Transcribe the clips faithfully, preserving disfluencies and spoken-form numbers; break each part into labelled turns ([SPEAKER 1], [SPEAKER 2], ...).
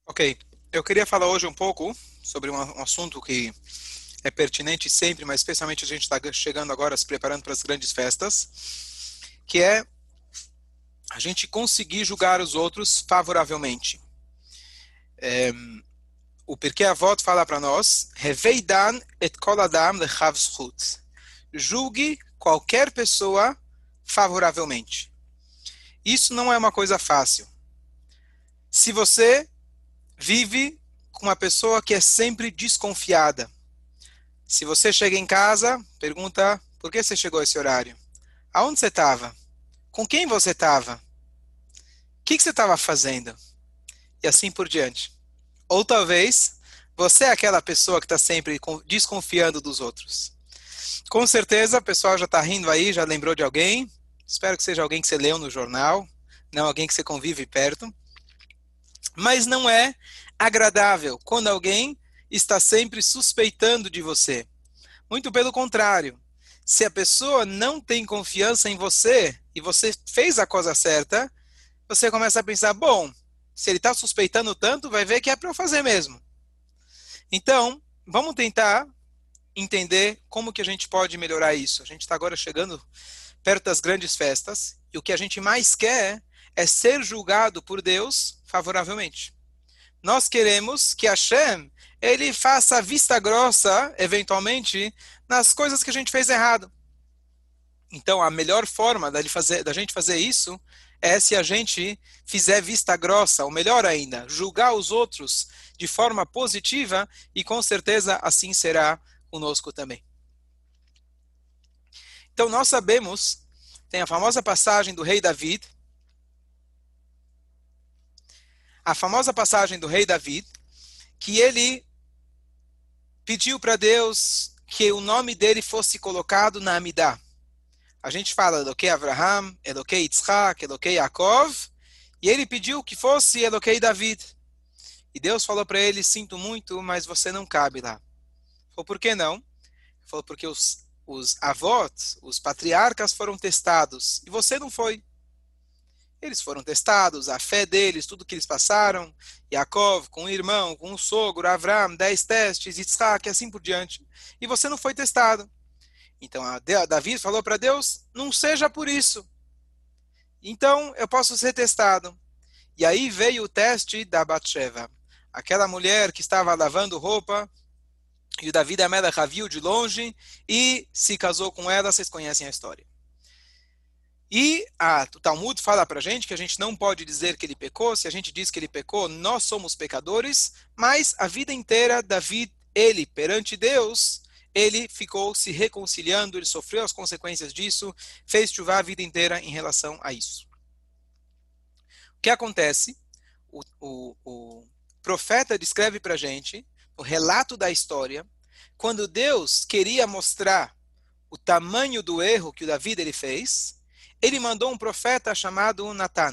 [SPEAKER 1] Ok, eu queria falar hoje um pouco sobre um, um assunto que é pertinente sempre, mas especialmente a gente está chegando agora, se preparando para as grandes festas, que é a gente conseguir julgar os outros favoravelmente. É, o Pirkei Avot fala para nós, Reveidan et kol adam lechav zchut. Julgue qualquer pessoa favoravelmente. Isso não é uma coisa fácil. Se você vive com uma pessoa que é sempre desconfiada, se você chega em casa, pergunta por que você chegou a esse horário? Aonde você estava? Com quem você estava? O que que você estava fazendo? E assim por diante. Ou talvez você é aquela pessoa que está sempre desconfiando dos outros. Com certeza o pessoal já está rindo aí, já lembrou de alguém. Espero que seja alguém que você leu no jornal, não alguém que você convive perto. Mas não é agradável quando alguém está sempre suspeitando de você. Muito pelo contrário. Se a pessoa não tem confiança em você e você fez a coisa certa, você começa a pensar, bom, se ele está suspeitando tanto, vai ver que é para eu fazer mesmo. Então, vamos tentar entender como que a gente pode melhorar isso. A gente está agora chegando perto das grandes festas e o que a gente mais quer é ser julgado por Deus favoravelmente. Nós queremos que Hashem, ele faça vista grossa, eventualmente, nas coisas que a gente fez errado. Então, a melhor forma da, fazer, da gente fazer isso é se a gente fizer vista grossa, ou melhor ainda, julgar os outros de forma positiva, e com certeza assim será conosco também. Então, nós sabemos, tem a famosa passagem do rei David, a famosa passagem do rei David, que ele pediu para Deus que o nome dele fosse colocado na Amidah. A gente fala Eloquei Avraham, Eloquei Yitzhak, Eloquei Yaakov, e ele pediu que fosse Eloquei David. E Deus falou para ele, sinto muito, mas você não cabe lá. Ele falou, por que não? Ele falou, porque os, os avós, os patriarcas foram testados, e você não foi. Eles foram testados, a fé deles, tudo que eles passaram, Yaakov com o irmão, com o sogro, Avraham, dez testes, Yitzhak, e assim por diante. E você não foi testado. Então a Davi falou para Deus, não seja por isso. Então eu posso ser testado. E aí veio o teste da Batsheva. Aquela mulher que estava lavando roupa, e o Davi da Melech a viu de longe e se casou com ela, vocês conhecem a história. E a, o Talmud fala para a gente que a gente não pode dizer que ele pecou, se a gente diz que ele pecou, nós somos pecadores, mas a vida inteira, Davi, ele, perante Deus, ele ficou se reconciliando, ele sofreu as consequências disso, fez chuvar a vida inteira em relação a isso. O que acontece? O, o, o profeta descreve para a gente, o relato da história, quando Deus queria mostrar o tamanho do erro que o Davi ele fez, ele mandou um profeta chamado Natan.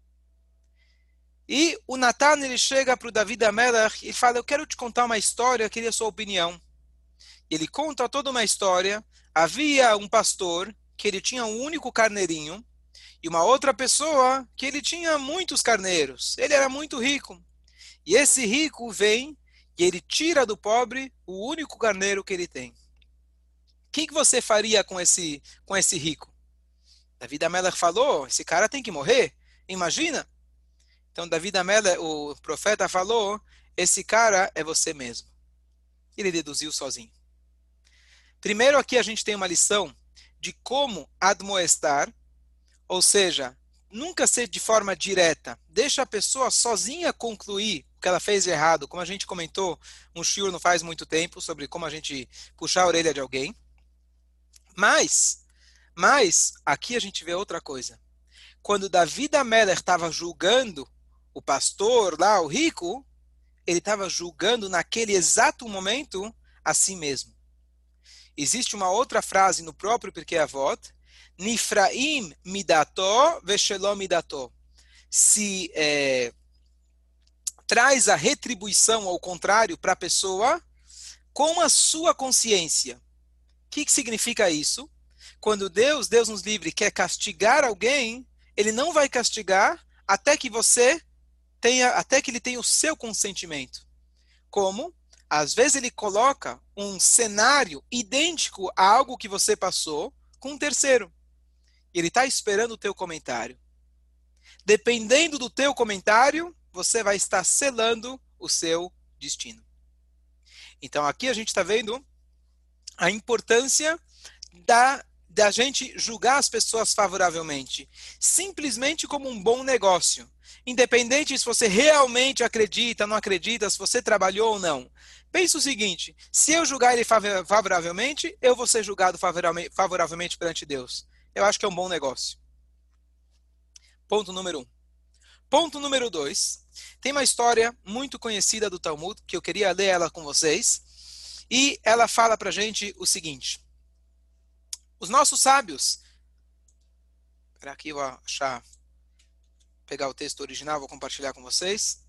[SPEAKER 1] E o Natan ele chega para o Davi Amelech e fala, eu quero te contar uma história, eu queria a sua opinião. Ele conta toda uma história. Havia um pastor que ele tinha um único carneirinho e uma outra pessoa que ele tinha muitos carneiros. Ele era muito rico. E esse rico vem e ele tira do pobre o único carneiro que ele tem. O que, que você faria com esse, com esse rico? Davi Amelech falou, esse cara tem que morrer. Imagina. Então Davi Amelech, o profeta falou, esse cara é você mesmo. Ele deduziu sozinho. Primeiro aqui a gente tem uma lição de como admoestar, ou seja, nunca ser de forma direta. Deixa a pessoa sozinha concluir o que ela fez de errado, como a gente comentou um shiur não faz muito tempo, sobre como a gente puxar a orelha de alguém. Mas, mas aqui a gente vê outra coisa. Quando Davi Amelech estava julgando o pastor lá, o rico, ele estava julgando naquele exato momento a si mesmo. Existe uma outra frase no próprio Pirkei Avot, Nifraim midato veshelom midato. Se é, traz a retribuição ao contrário para a pessoa com a sua consciência. O que, que significa isso? Quando Deus, Deus nos livre, quer castigar alguém, ele não vai castigar até que você tenha, até que ele tenha o seu consentimento. Como? Às vezes ele coloca um cenário idêntico a algo que você passou com um terceiro. E ele está esperando o teu comentário. Dependendo do teu comentário, você vai estar selando o seu destino. Então aqui a gente está vendo a importância da, da gente julgar as pessoas favoravelmente, simplesmente como um bom negócio. Independente se você realmente acredita, não acredita, se você trabalhou ou não. Pensa o seguinte, se eu julgar ele favoravelmente, eu vou ser julgado favoravelmente perante Deus. Eu acho que é um bom negócio. Ponto número um. Ponto número dois. Tem uma história muito conhecida do Talmud, que eu queria ler ela com vocês. E ela fala pra gente o seguinte. Os nossos sábios... Espera aqui, eu vou achar... Pegar o texto original, vou compartilhar com vocês.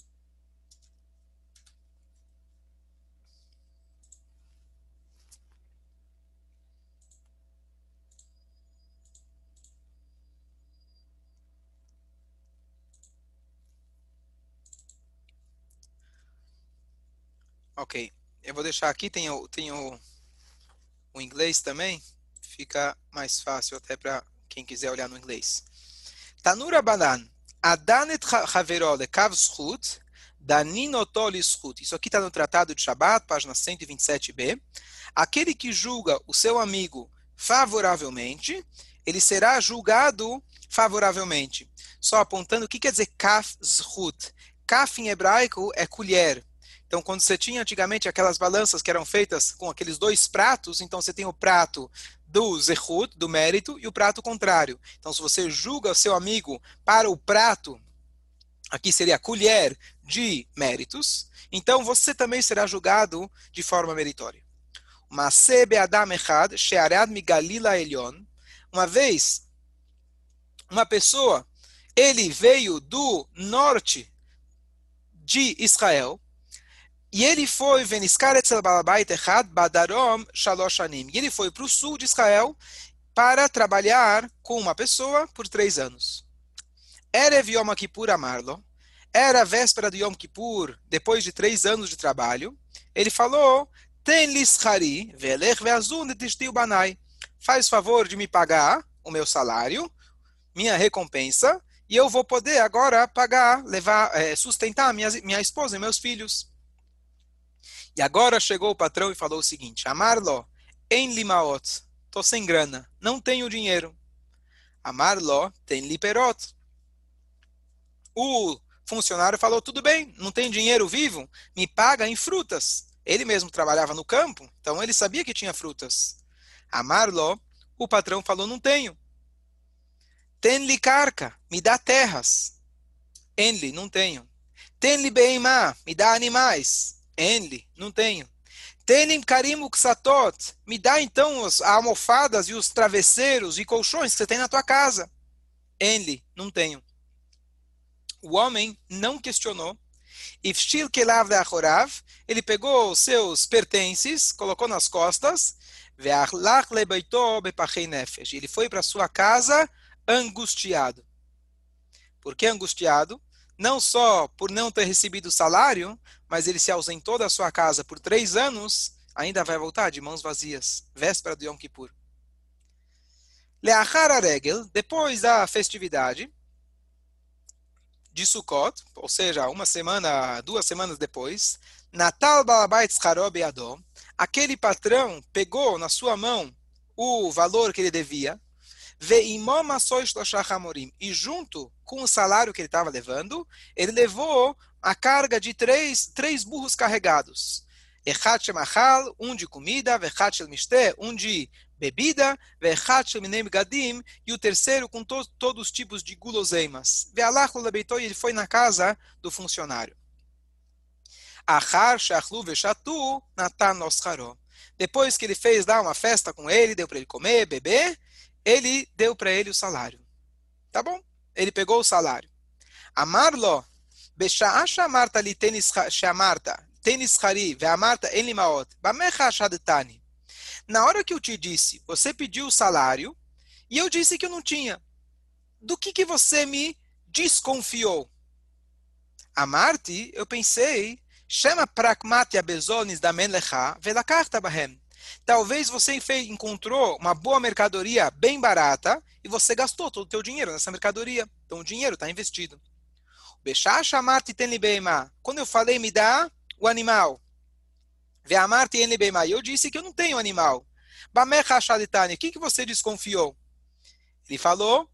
[SPEAKER 1] Ok, eu vou deixar aqui, tem o, tem o, o inglês também, fica mais fácil até para quem quiser olhar no inglês. Tanura Banan, Adanet Havero Lekav Zchut, Daninoto Lizchut. Isso aqui está no Tratado de Shabat, página cento e vinte e sete b. Aquele que julga o seu amigo favoravelmente, ele será julgado favoravelmente. Só apontando o que quer dizer Kaf Zchut. Kaf em hebraico é colher. Então, quando você tinha antigamente aquelas balanças que eram feitas com aqueles dois pratos, então você tem o prato do zehut, do mérito, e o prato contrário. Então, se você julga o seu amigo para o prato, aqui seria a colher de méritos, então você também será julgado de forma meritória. Uma vez, uma pessoa, ele veio do norte de Israel, e ele foi, e ele foi para o sul de Israel para trabalhar com uma pessoa por três anos. Erev Yom Kippur Amarlo, era a véspera do Yom Kippur, depois de três anos de trabalho, ele falou, Ten lischari, velech veazun etishti ubanai. Faz favor de me pagar o meu salário, minha recompensa, e eu vou poder agora pagar, levar, é, sustentar minha, minha esposa e meus filhos. E agora chegou o patrão e falou o seguinte, Amarlo, em limaot, tô sem grana, não tenho dinheiro. Amarlo, tem liperot. O funcionário falou, tudo bem, não tem dinheiro vivo, me paga em frutas. Ele mesmo trabalhava no campo, então ele sabia que tinha frutas. Amarlo, o patrão falou, não tenho. Tem-lhe carca, me dá terras. Enli, não tenho. Tem-lhe beimá, me dá animais. Enli, não tenho. Tenim karim uksatot, me dá então as almofadas e os travesseiros e colchões que você tem na tua casa. Enli, não tenho. O homem não questionou. Ifshil kelav deachorav, ele pegou os seus pertences, colocou nas costas, ve'achlach lebeito bepachei nefesh. Ele foi para sua casa angustiado. Por que angustiado? Não só por não ter recebido o salário, mas ele se ausentou da sua casa por três anos, ainda vai voltar de mãos vazias, véspera do Yom Kippur. Leachar aregel, depois da festividade de Sukkot, ou seja, uma semana, duas semanas depois, Natal Balabait Tzcharo Beadó, aquele patrão pegou na sua mão o valor que ele devia, e junto com o salário que ele estava levando, ele levou a carga de três, três burros carregados. Um de comida, um de bebida, e o terceiro com to todos os tipos de guloseimas. E ele foi na casa do funcionário. Depois que ele fez lá uma festa com ele, deu para ele comer, beber, ele deu para ele o salário. Tá bom? Ele pegou o salário. Amarlo, Besha'asha Marta li tenis shamarta, tenis chari, ve'amarta en limaot, bamecha shadetani. Na hora que eu te disse, você pediu o salário, e eu disse que eu não tinha. Do que que você me desconfiou? Amarti, eu pensei, chama pragmatia bezonis da menlecha velakarta bahem. Talvez você encontrou uma boa mercadoria bem barata e você gastou todo o seu dinheiro nessa mercadoria. Então o dinheiro está investido. Bechacha amarti ten li beima. Quando eu falei me dá o animal. Ve amarti en li beima. Eu disse que eu não tenho animal. Bamecha shaditani. O que que você desconfiou? Ele falou.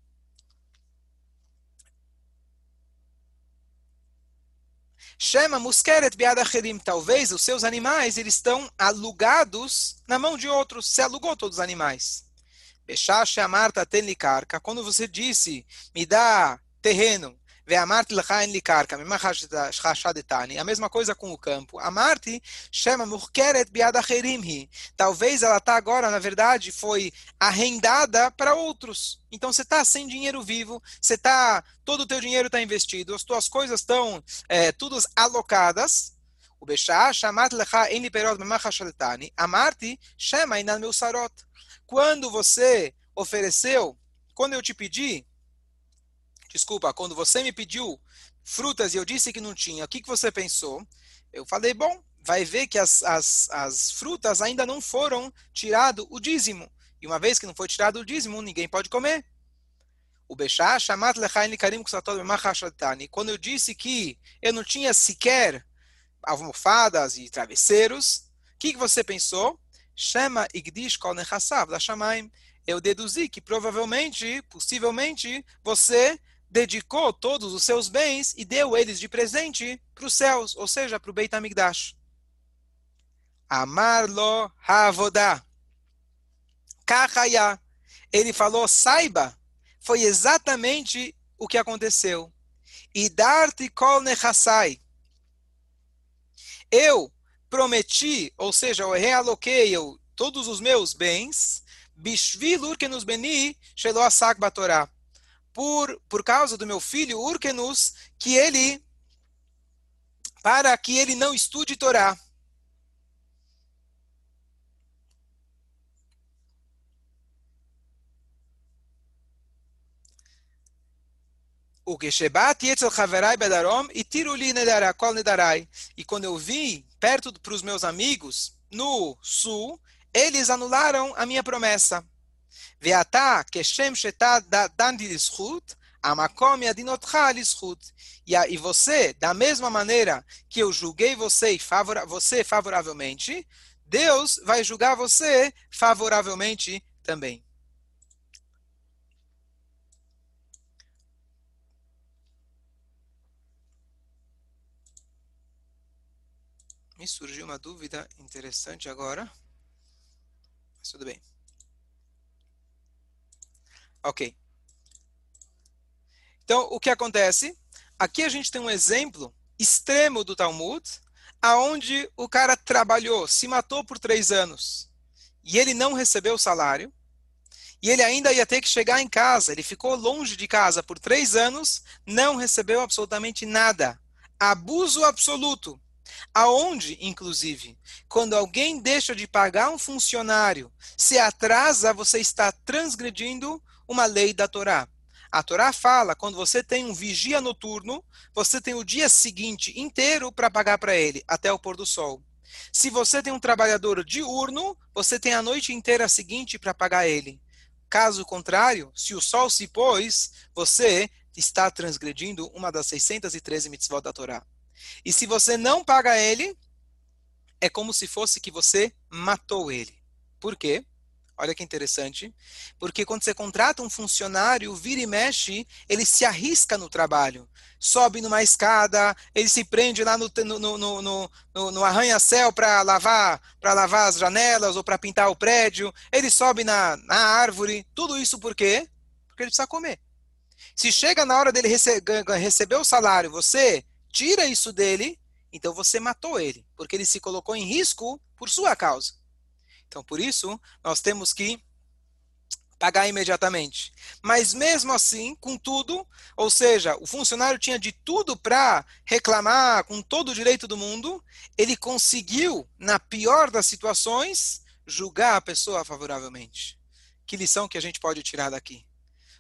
[SPEAKER 1] Chama muskeret biad acherim. Talvez os seus animais eles estão alugados na mão de outros. Você alugou todos os animais. Bechacha amarta ten li karka. Quando você disse me dá terreno. A mesma coisa com o campo. Amarti chama murkeret biad acherim. Talvez ela está agora, na verdade, foi arrendada para outros. Então você está sem dinheiro vivo, você tá, todo o teu dinheiro está investido, as tuas coisas estão é, todas alocadas. O Bechá chamat lecha en liperot memachashaletani. Amarti chama inan meu sarot. Quando você ofereceu, quando eu te pedi Desculpa, quando você me pediu frutas e eu disse que não tinha, o que, que você pensou? Eu falei, bom, vai ver que as, as, as frutas ainda não foram tirado o dízimo. E uma vez que não foi tirado o dízimo, ninguém pode comer. O Bechá, chamat lechaim likarim kusatod b'machashatani. Quando eu disse que eu não tinha sequer almofadas e travesseiros, o que, que você pensou? Shema igdish kol nechassav da shamaim. Eu deduzi que provavelmente, possivelmente, você dedicou todos os seus bens e deu eles de presente para os céus, ou seja, para o Beit HaMikdash. Amar lo ha'avodah. Kachaya. Ele falou, saiba, foi exatamente o que aconteceu. E dar-te kol nechassai. Eu prometi, ou seja, eu realoquei eu, todos os meus bens, bishvil urkenus beni shelo asak batorá. Por, por causa do meu filho Urkenus, que ele, para que ele não estude Torá. O Geshebat yetzel chaverai bedarom e tiruli nedarai, kol nedarai. E quando eu vim perto para os meus amigos no sul, eles anularam a minha promessa. Veatá, keshem shetad dandi lishut, amakom yadinotcha lishut. E você, da mesma maneira que eu julguei você, favora, você favoravelmente, Deus vai julgar você favoravelmente também. Me surgiu uma dúvida interessante agora. Mas tudo bem. Ok. Então, o que acontece? Aqui a gente tem um exemplo extremo do Talmud, aonde o cara trabalhou, se matou por três anos, e ele não recebeu o salário, e ele ainda ia ter que chegar em casa. Ele ficou longe de casa por três anos, não recebeu absolutamente nada. Abuso absoluto. Aonde, inclusive, quando alguém deixa de pagar um funcionário, se atrasa, você está transgredindo uma lei da Torá. A Torá fala, quando você tem um vigia noturno, você tem o dia seguinte inteiro para pagar para ele, até o pôr do sol. Se você tem um trabalhador diurno, você tem a noite inteira seguinte para pagar ele. Caso contrário, se o sol se pôs, você está transgredindo uma das seiscentas e treze mitzvot da Torá. E se você não paga ele, é como se fosse que você matou ele. Por quê? Olha que interessante. Porque quando você contrata um funcionário, vira e mexe, ele se arrisca no trabalho. Sobe numa escada, ele se prende lá no, no, no, no, no, no arranha-céu para lavar, para lavar as janelas ou para pintar o prédio. Ele sobe na, na árvore. Tudo isso por quê? Porque ele precisa comer. Se chega na hora dele rece receber o salário, você tira isso dele, então você matou ele, porque ele se colocou em risco por sua causa. Então, por isso, nós temos que pagar imediatamente. Mas mesmo assim, com tudo, ou seja, o funcionário tinha de tudo para reclamar com todo o direito do mundo, ele conseguiu, na pior das situações, julgar a pessoa favoravelmente. Que lição que a gente pode tirar daqui?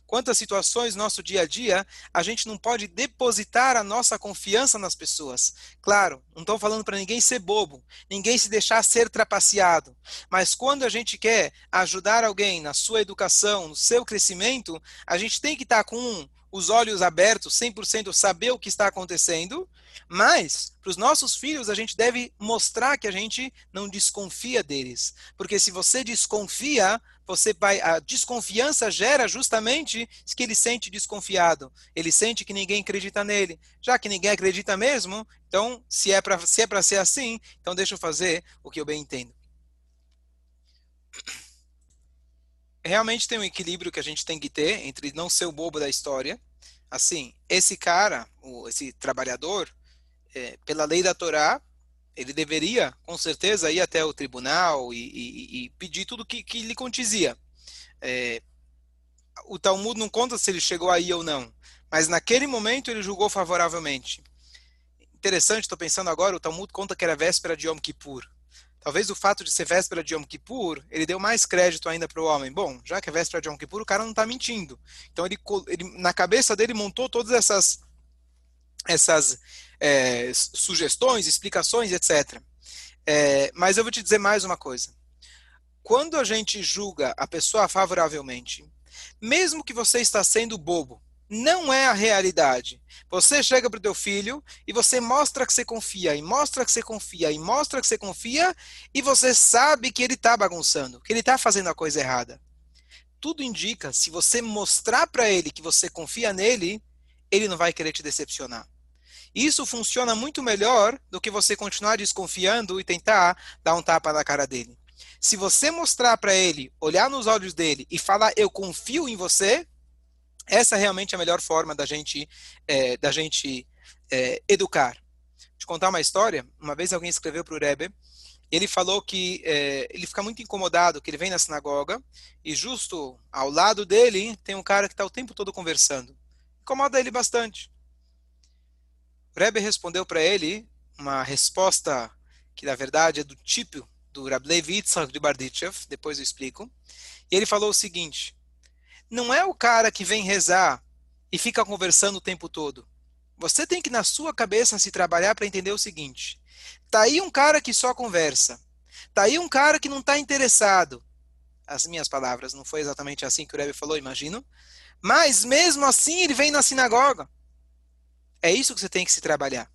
[SPEAKER 1] quantas situações no nosso dia a dia a gente não pode depositar a nossa confiança nas pessoas. Claro, não estou falando para ninguém ser bobo, ninguém se deixar ser trapaceado, mas quando a gente quer ajudar alguém na sua educação, no seu crescimento, a gente tem que estar com os olhos abertos, cem por cento saber o que está acontecendo, mas para os nossos filhos a gente deve mostrar que a gente não desconfia deles, porque se você desconfia, você vai, a desconfiança gera justamente que ele sente desconfiado, ele sente que ninguém acredita nele, já que ninguém acredita mesmo, então se é para se é para ser assim, então deixa eu fazer o que eu bem entendo. Realmente tem um equilíbrio que a gente tem que ter entre não ser o bobo da história. Assim, esse cara, o- esse trabalhador, é, pela lei da Torá, ele deveria, com certeza, ir até o tribunal e, e- e pedir tudo que, que lhe contizia. É, o Talmud não conta se ele chegou aí ou não, mas naquele momento ele julgou favoravelmente. Interessante, estou pensando agora, o Talmud conta que era véspera de Yom Kippur. Talvez o fato de ser véspera de Yom Kippur, ele deu mais crédito ainda para o homem. Bom, já que é véspera de Yom Kippur, o cara não está mentindo. Então, ele, ele, na cabeça dele, montou todas essas, essas é, sugestões, explicações, etcétera. É, mas eu vou te dizer mais uma coisa. Quando a gente julga a pessoa favoravelmente, mesmo que você está sendo bobo, não é a realidade. Você chega para o teu filho e você mostra que você confia, e mostra que você confia, e mostra que você confia, e você sabe que ele está bagunçando, que ele está fazendo a coisa errada. Tudo indica, se você mostrar para ele que você confia nele, ele não vai querer te decepcionar. Isso funciona muito melhor do que você continuar desconfiando e tentar dar um tapa na cara dele. Se você mostrar para ele, olhar nos olhos dele e falar eu confio em você, essa é realmente a melhor forma da gente, é, da gente é, educar. Vou te contar uma história. Uma vez alguém escreveu para o Rebbe e ele falou que é, ele fica muito incomodado, que ele vem na sinagoga e justo ao lado dele tem um cara que está o tempo todo conversando. Incomoda ele bastante. O Rebbe respondeu para ele uma resposta que, na verdade, é do tipo do Rab Levi Yitzhak de Barditchev, depois eu explico. E ele falou o seguinte, não é o cara que vem rezar e fica conversando o tempo todo. Você tem que, na sua cabeça, se trabalhar para entender o seguinte, tá aí um cara que só conversa, tá aí um cara que não está interessado. As minhas palavras, não foi exatamente assim que o Rebbe falou, imagino. Mas, mesmo assim, ele vem na sinagoga. É isso que você tem que se trabalhar.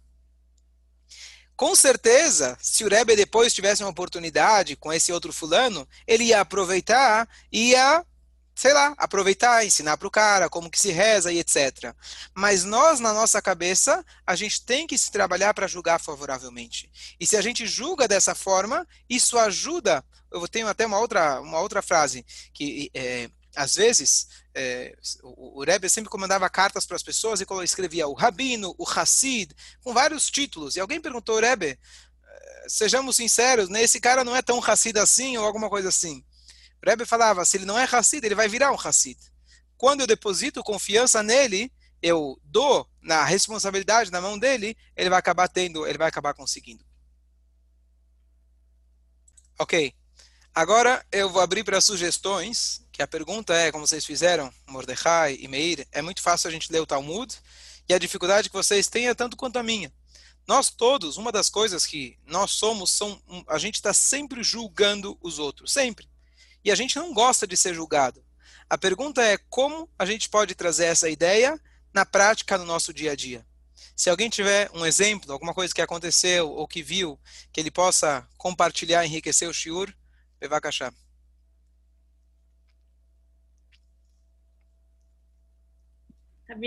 [SPEAKER 1] Com certeza, se o Rebbe depois tivesse uma oportunidade com esse outro fulano, ele ia aproveitar, ia, sei lá, aproveitar, ensinar para o cara como que se reza e etcétera. Mas nós, na nossa cabeça, a gente tem que se trabalhar para julgar favoravelmente. E se a gente julga dessa forma, isso ajuda. Eu tenho até uma outra, uma outra frase, que é, às vezes é, o, o Rebbe sempre comandava cartas para as pessoas e escrevia o Rabino, o Hassid, com vários títulos. E alguém perguntou, Rebbe, sejamos sinceros, né, esse cara não é tão Hassid assim ou alguma coisa assim. O Rebbe falava, se ele não é Hassid, ele vai virar um Hassid. Quando eu deposito confiança nele, eu dou na responsabilidade na mão dele, ele vai acabar tendo, ele vai acabar conseguindo. Ok. Agora eu vou abrir para sugestões, que a pergunta é, como vocês fizeram, Mordecai e Meir, é muito fácil a gente ler o Talmud, e a dificuldade que vocês têm é tanto quanto a minha. Nós todos, uma das coisas que nós somos, são, a gente está sempre julgando os outros, sempre. E a gente não gosta de ser julgado. A pergunta é como a gente pode trazer essa ideia na prática no nosso dia a dia. Se alguém tiver um exemplo, alguma coisa que aconteceu ou que viu, que ele possa compartilhar, enriquecer o shiur, bevakashá.